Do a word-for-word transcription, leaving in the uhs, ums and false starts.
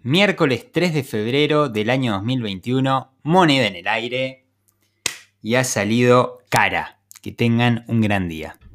Miércoles tres de febrero del año dos mil veintiuno, moneda en el aire y ha salido cara. Que tengan un gran día.